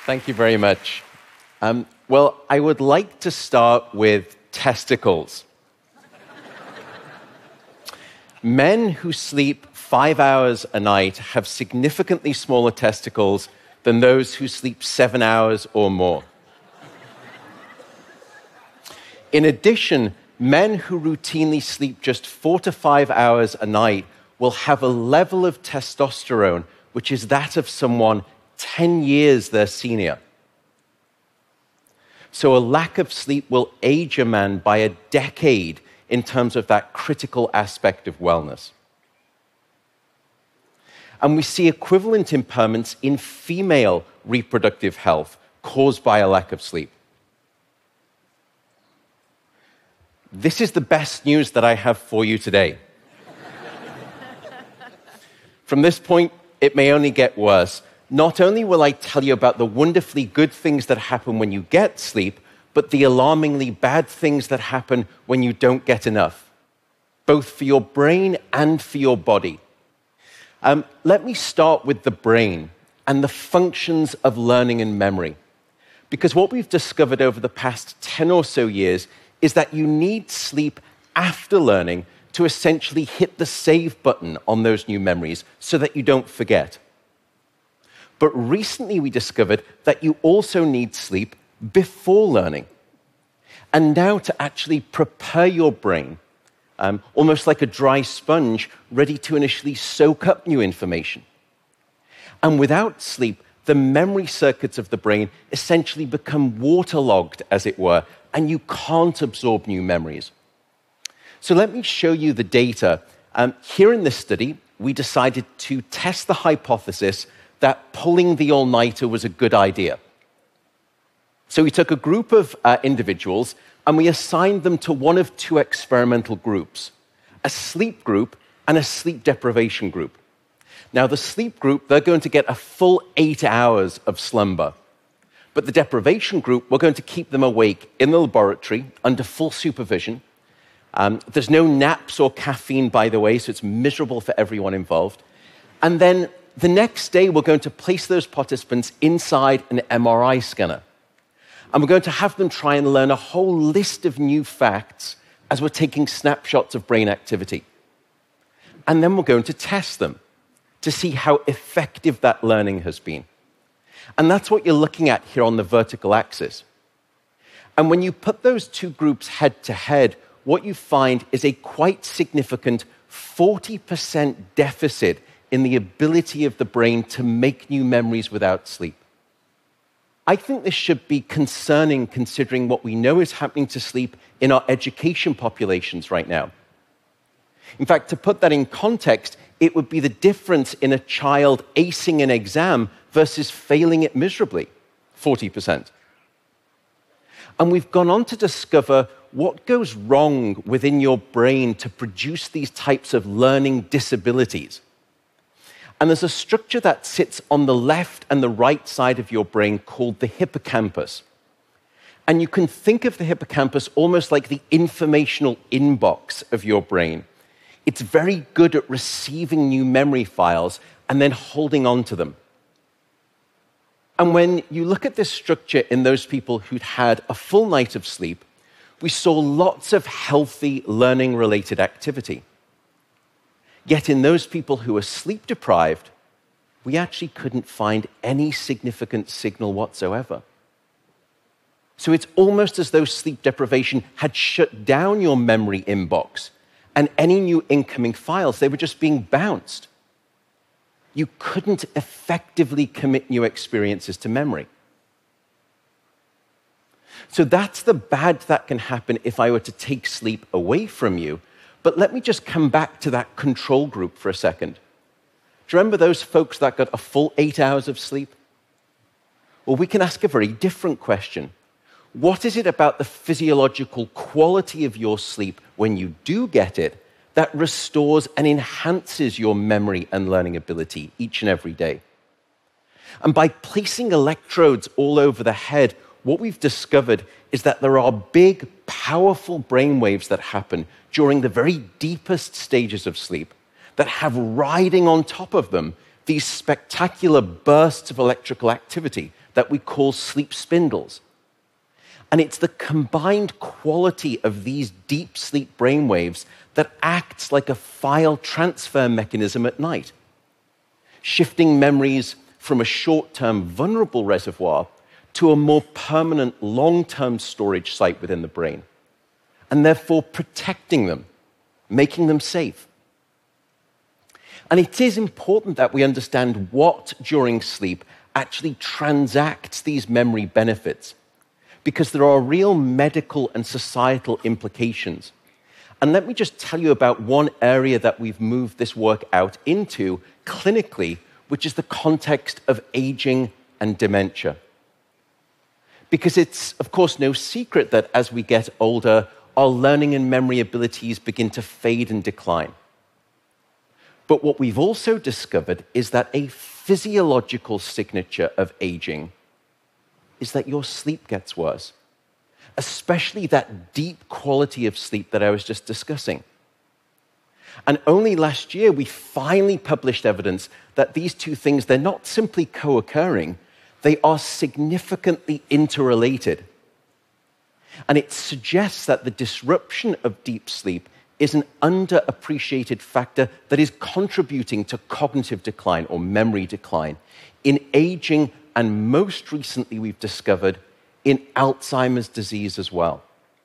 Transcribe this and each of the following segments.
Thank you very much. Well, I would like to start with testicles. Men who sleep 5 hours a night have significantly smaller testicles than those who sleep 7 hours or more. In addition, men who routinely sleep just 4 to 5 hours a night will have a level of testosterone which is that of someone 10 years their senior. So a lack of sleep will age a man by a decade in terms of that critical aspect of wellness. And we see equivalent impairments in female reproductive health caused by a lack of sleep. This is the best news that I have for you today. From this point, it may only get worse. Not only will I tell you about the wonderfully good things that happen when you get sleep, but the alarmingly bad things that happen when you don't get enough, both for your brain and for your body. Let me start with the brain and the functions of learning and memory. Because what we've discovered over the past 10 or so years is that you need sleep after learning to essentially hit the save button on those new memories so that you don't forget. But recently we discovered that you also need sleep before learning. And now to actually prepare your brain, almost like a dry sponge, ready to initially soak up new information. And without sleep, the memory circuits of the brain essentially become waterlogged, as it were, and you can't absorb new memories. So let me show you the data. Here in this study, we decided to test the hypothesis that pulling the all-nighter was a good idea. So we took a group of individuals and we assigned them to one of two experimental groups, a sleep group and a sleep deprivation group. Now, the sleep group, they're going to get a full 8 hours of slumber. But the deprivation group, we're going to keep them awake in the laboratory under full supervision. There's no naps or caffeine, by the way, so it's miserable for everyone involved. And then the next day, we're going to place those participants inside an MRI scanner. And we're going to have them try and learn a whole list of new facts as we're taking snapshots of brain activity. And then we're going to test them to see how effective that learning has been. And that's what you're looking at here on the vertical axis. And when you put those two groups head to head, what you find is a quite significant 40% deficit in the ability of the brain to make new memories without sleep. I think this should be concerning considering what we know is happening to sleep in our education populations right now. In fact, to put that in context, it would be the difference in a child acing an exam versus failing it miserably, 40%. And we've gone on to discover what goes wrong within your brain to produce these types of learning disabilities. And there's a structure that sits on the left and the right side of your brain called the hippocampus. And you can think of the hippocampus almost like the informational inbox of your brain. It's very good at receiving new memory files and then holding on to them. And when you look at this structure in those people who'd had a full night of sleep, we saw lots of healthy learning-related activity. Yet in those people who were sleep-deprived, we actually couldn't find any significant signal whatsoever. So it's almost as though sleep deprivation had shut down your memory inbox, and any new incoming files, they were just being bounced. You couldn't effectively commit new experiences to memory. So that's the bad that can happen if I were to take sleep away from you. But let me just come back to that control group for a second. Do you remember those folks that got a full 8 hours of sleep? Well, we can ask a very different question. What is it about the physiological quality of your sleep when you do get it that restores and enhances your memory and learning ability each and every day? And by placing electrodes all over the head, what we've discovered is that there are big, powerful brainwaves that happen during the very deepest stages of sleep that have riding on top of them these spectacular bursts of electrical activity that we call sleep spindles. And it's the combined quality of these deep sleep brainwaves that acts like a file transfer mechanism at night, shifting memories from a short-term vulnerable reservoir to a more permanent long-term storage site within the brain, and therefore protecting them, making them safe. And it is important that we understand what, during sleep, actually transacts these memory benefits, because there are real medical and societal implications. And let me just tell you about one area that we've moved this work out into clinically, which is the context of aging and dementia. Because it's, of course, no secret that as we get older, our learning and memory abilities begin to fade and decline. But what we've also discovered is that a physiological signature of aging is that your sleep gets worse, especially that deep quality of sleep that I was just discussing. And only last year, we finally published evidence that these two things, they're not simply co-occurring, they are significantly interrelated. And it suggests that the disruption of deep sleep is an underappreciated factor that is contributing to cognitive decline or memory decline in aging, and most recently we've discovered in Alzheimer's disease as well.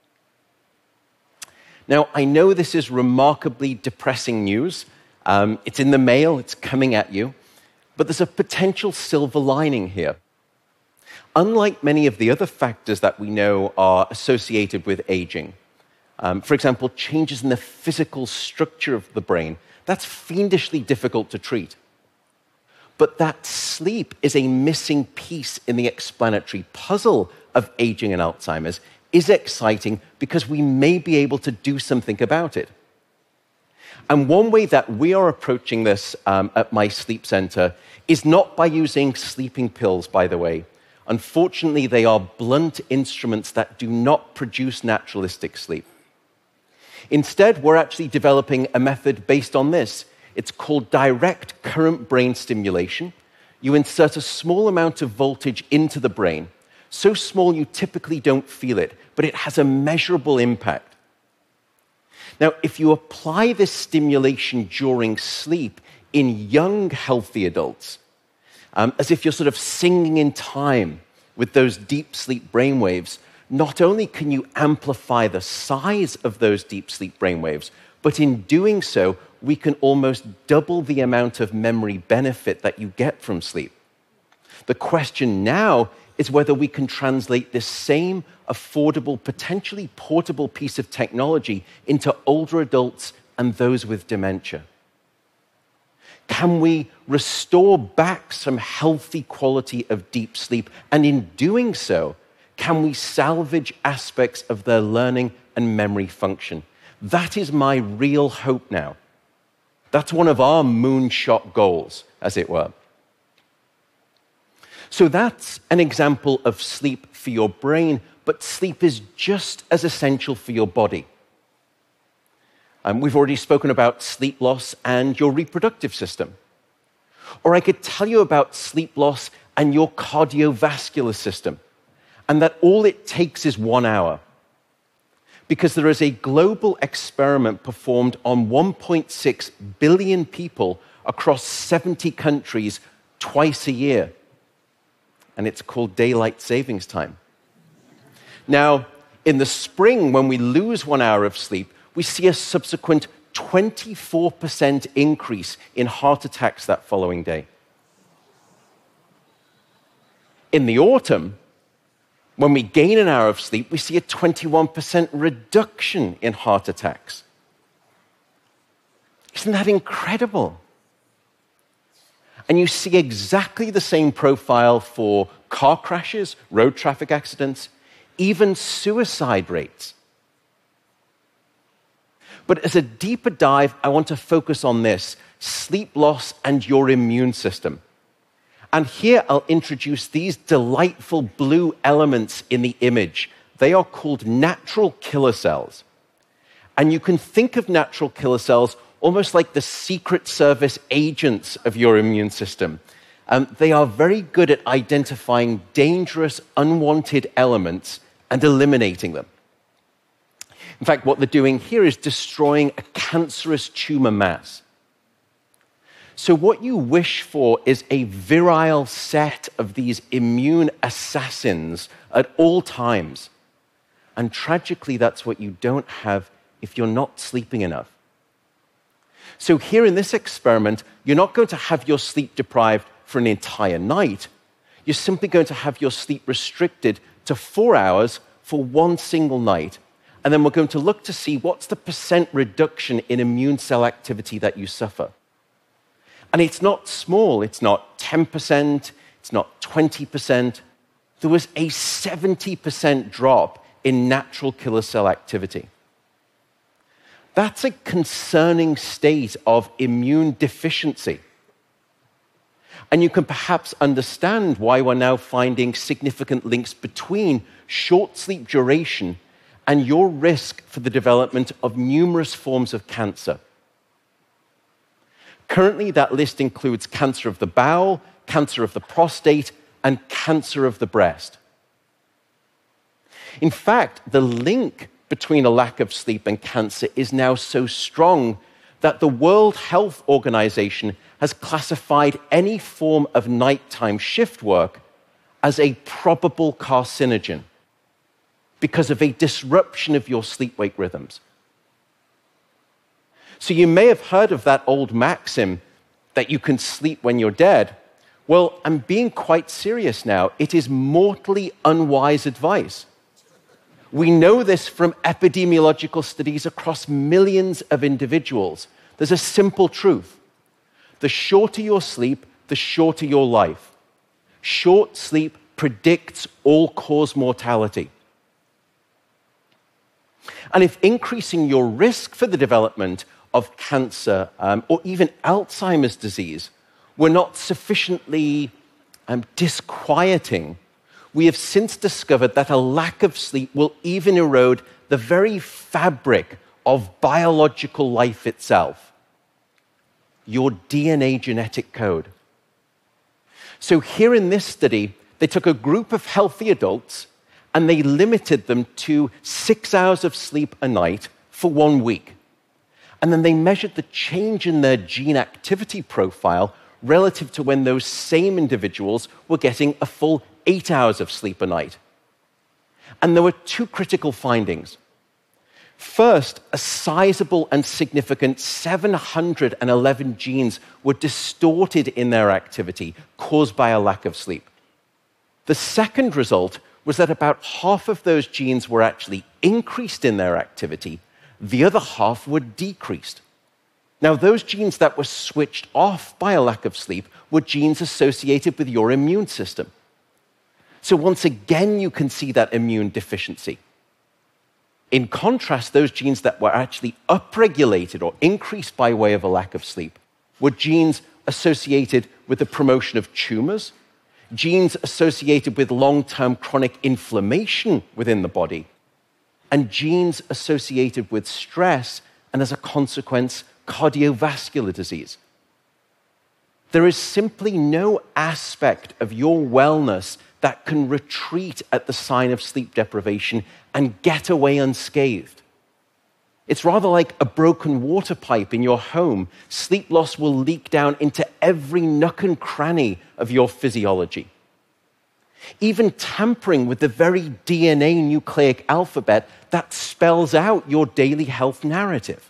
Now, I know this is remarkably depressing news. It's in the mail, it's coming at you, but there's a potential silver lining here. Unlike many of the other factors that we know are associated with aging, for example, changes in the physical structure of the brain, that's fiendishly difficult to treat. But that sleep is a missing piece in the explanatory puzzle of aging and Alzheimer's is exciting because we may be able to do something about it. And one way that we are approaching this at my sleep center is not by using sleeping pills, by the way. Unfortunately, they are blunt instruments that do not produce naturalistic sleep. Instead, we're actually developing a method based on this. It's called direct current brain stimulation. You insert a small amount of voltage into the brain, so small you typically don't feel it, but it has a measurable impact. Now, if you apply this stimulation during sleep in young, healthy adults, as if you're sort of singing in time with those deep sleep brainwaves, not only can you amplify the size of those deep sleep brainwaves, but in doing so, we can almost double the amount of memory benefit that you get from sleep. The question now is whether we can translate this same affordable, potentially portable piece of technology into older adults and those with dementia. Can we restore back some healthy quality of deep sleep? And in doing so, can we salvage aspects of their learning and memory function? That is my real hope now. That's one of our moonshot goals, as it were. So that's an example of sleep for your brain, but sleep is just as essential for your body. We've already spoken about sleep loss and your reproductive system. Or I could tell you about sleep loss and your cardiovascular system, and that all it takes is 1 hour. Because there is a global experiment performed on 1.6 billion people across 70 countries twice a year. And it's called daylight savings time. Now, in the spring, when we lose 1 hour of sleep, we see a subsequent 24% increase in heart attacks that following day. In the autumn, when we gain an hour of sleep, we see a 21% reduction in heart attacks. Isn't that incredible? And you see exactly the same profile for car crashes, road traffic accidents, even suicide rates. But as a deeper dive, I want to focus on this: sleep loss and your immune system. And here I'll introduce these delightful blue elements in the image. They are called natural killer cells. And you can think of natural killer cells almost like the Secret Service agents of your immune system. They are very good at identifying dangerous, unwanted elements and eliminating them. In fact, what they're doing here is destroying a cancerous tumor mass. So what you wish for is a virile set of these immune assassins at all times. And tragically, that's what you don't have if you're not sleeping enough. So here in this experiment, you're not going to have your sleep deprived for an entire night. You're simply going to have your sleep restricted to 4 hours for one single night. And then we're going to look to see what's the percent reduction in immune cell activity that you suffer. And it's not small. It's not 10%. It's not 20%. There was a 70% drop in natural killer cell activity. That's a concerning state of immune deficiency. And you can perhaps understand why we're now finding significant links between short sleep duration and your risk for the development of numerous forms of cancer. Currently, that list includes cancer of the bowel, cancer of the prostate, and cancer of the breast. In fact, the link between a lack of sleep and cancer is now so strong that the World Health Organization has classified any form of nighttime shift work as a probable carcinogen because of a disruption of your sleep-wake rhythms. So you may have heard of that old maxim that you can sleep when you're dead. Well, I'm being quite serious now. It is mortally unwise advice. We know this from epidemiological studies across millions of individuals. There's a simple truth. The shorter your sleep, the shorter your life. Short sleep predicts all-cause mortality. And if increasing your risk for the development of cancer or even Alzheimer's disease were not sufficiently disquieting, we have since discovered that a lack of sleep will even erode the very fabric of biological life itself, your DNA genetic code. So here in this study, they took a group of healthy adults and they limited them to 6 hours of sleep a night for 1 week. And then they measured the change in their gene activity profile relative to when those same individuals were getting a full 8 hours of sleep a night. And there were two critical findings. First, a sizable and significant 711 genes were distorted in their activity, caused by a lack of sleep. The second result was that about half of those genes were actually increased in their activity, the other half were decreased. Now, those genes that were switched off by a lack of sleep were genes associated with your immune system. So once again, you can see that immune deficiency. In contrast, those genes that were actually upregulated or increased by way of a lack of sleep were genes associated with the promotion of tumors, genes associated with long-term chronic inflammation within the body, and genes associated with stress and, as a consequence, cardiovascular disease. There is simply no aspect of your wellness that can retreat at the sign of sleep deprivation and get away unscathed. It's rather like a broken water pipe in your home. Sleep loss will leak down into every nook and cranny of your physiology. Even tampering with the very DNA nucleic alphabet that spells out your daily health narrative.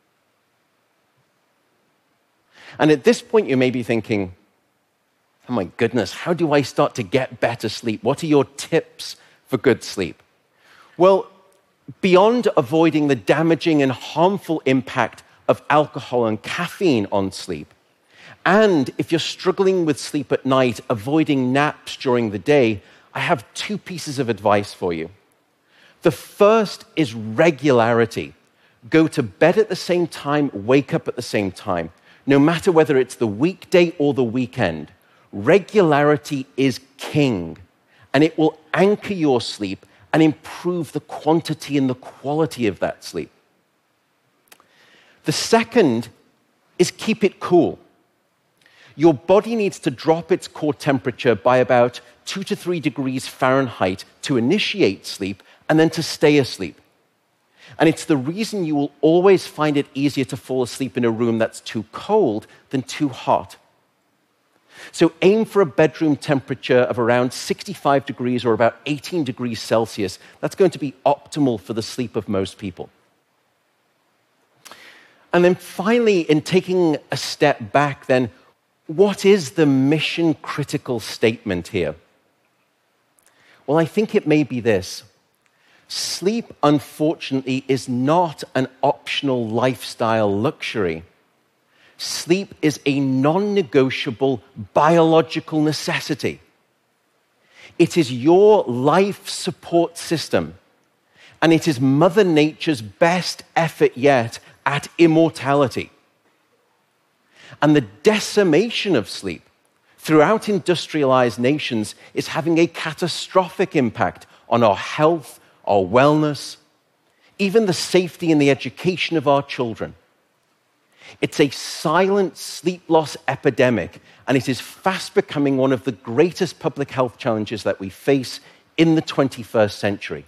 And at this point, you may be thinking, oh my goodness, how do I start to get better sleep? What are your tips for good sleep? Well, beyond avoiding the damaging and harmful impact of alcohol and caffeine on sleep, and if you're struggling with sleep at night, avoiding naps during the day, I have two pieces of advice for you. The first is regularity. Go to bed at the same time, wake up at the same time, no matter whether it's the weekday or the weekend. Regularity is king, and it will anchor your sleep and improve the quantity and the quality of that sleep. The second is keep it cool. Your body needs to drop its core temperature by about 2 to 3 degrees Fahrenheit to initiate sleep and then to stay asleep. And it's the reason you will always find it easier to fall asleep in a room that's too cold than too hot. So aim for a bedroom temperature of around 65 degrees or about 18 degrees Celsius. That's going to be optimal for the sleep of most people. And then finally, in taking a step back, then, what is the mission-critical statement here? Well, I think it may be this. Sleep, unfortunately, is not an optional lifestyle luxury. Sleep is a non-negotiable biological necessity. It is your life support system, and it is Mother Nature's best effort yet at immortality. And the decimation of sleep throughout industrialized nations is having a catastrophic impact on our health, our wellness, even the safety and the education of our children. It's a silent sleep loss epidemic, and it is fast becoming one of the greatest public health challenges that we face in the 21st century.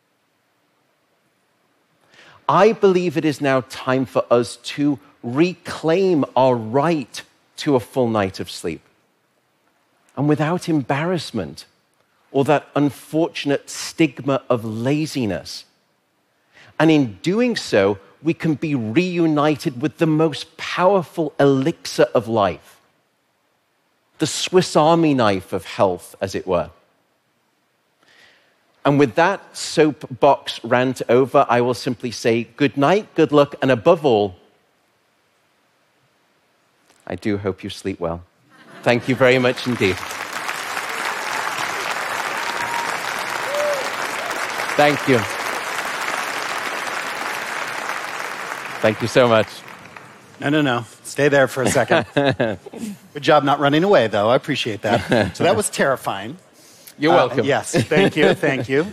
I believe it is now time for us to reclaim our right to a full night of sleep, and without embarrassment or that unfortunate stigma of laziness. And in doing so, we can be reunited with the most powerful elixir of life, the Swiss Army knife of health, as it were. And with that soapbox rant over, I will simply say good night, good luck, and above all, I do hope you sleep well. Thank you very much indeed. Thank you. Thank you so much. No. Stay there for a second. Good job not running away, though. I appreciate that. So that was terrifying. You're welcome. Yes, thank you, thank you.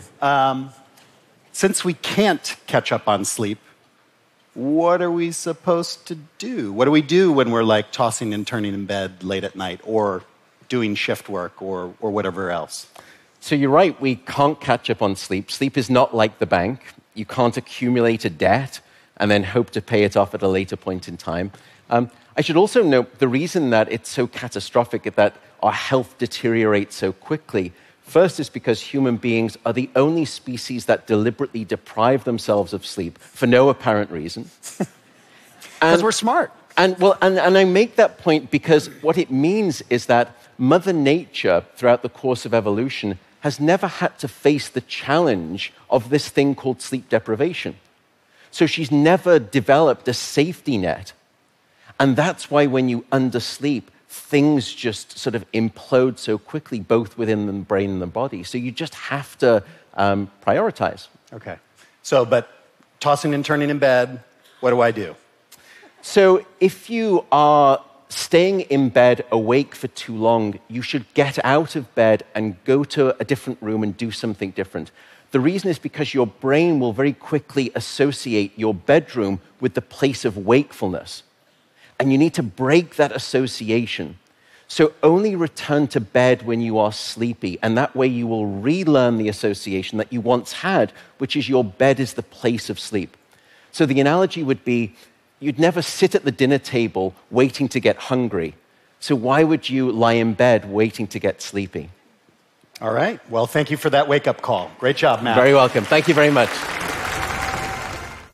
Since we can't catch up on sleep, what are we supposed to do? What do we do when we're like tossing and turning in bed late at night or doing shift work or whatever else? So you're right, we can't catch up on sleep. Sleep is not like the bank. You can't accumulate a debt and then hope to pay it off at a later point in time. I should also note the reason that it's so catastrophic is that our health deteriorates so quickly. First is because human beings are the only species that deliberately deprive themselves of sleep for no apparent reason. Because we're smart. And I make that point because what it means is that Mother Nature, throughout the course of evolution, has never had to face the challenge of this thing called sleep deprivation. So she's never developed a safety net. And that's why when you undersleep, things just sort of implode so quickly, both within the brain and the body. So you just have to prioritize. Okay. So, but tossing and turning in bed, what do I do? So if you are staying in bed awake for too long, you should get out of bed and go to a different room and do something different. The reason is because your brain will very quickly associate your bedroom with the place of wakefulness. And you need to break that association. So only return to bed when you are sleepy, and that way you will relearn the association that you once had, which is your bed is the place of sleep. So the analogy would be, you'd never sit at the dinner table waiting to get hungry. So why would you lie in bed waiting to get sleepy? All right. Well, thank you for that wake-up call. Great job, Matt. Very welcome. Thank you very much.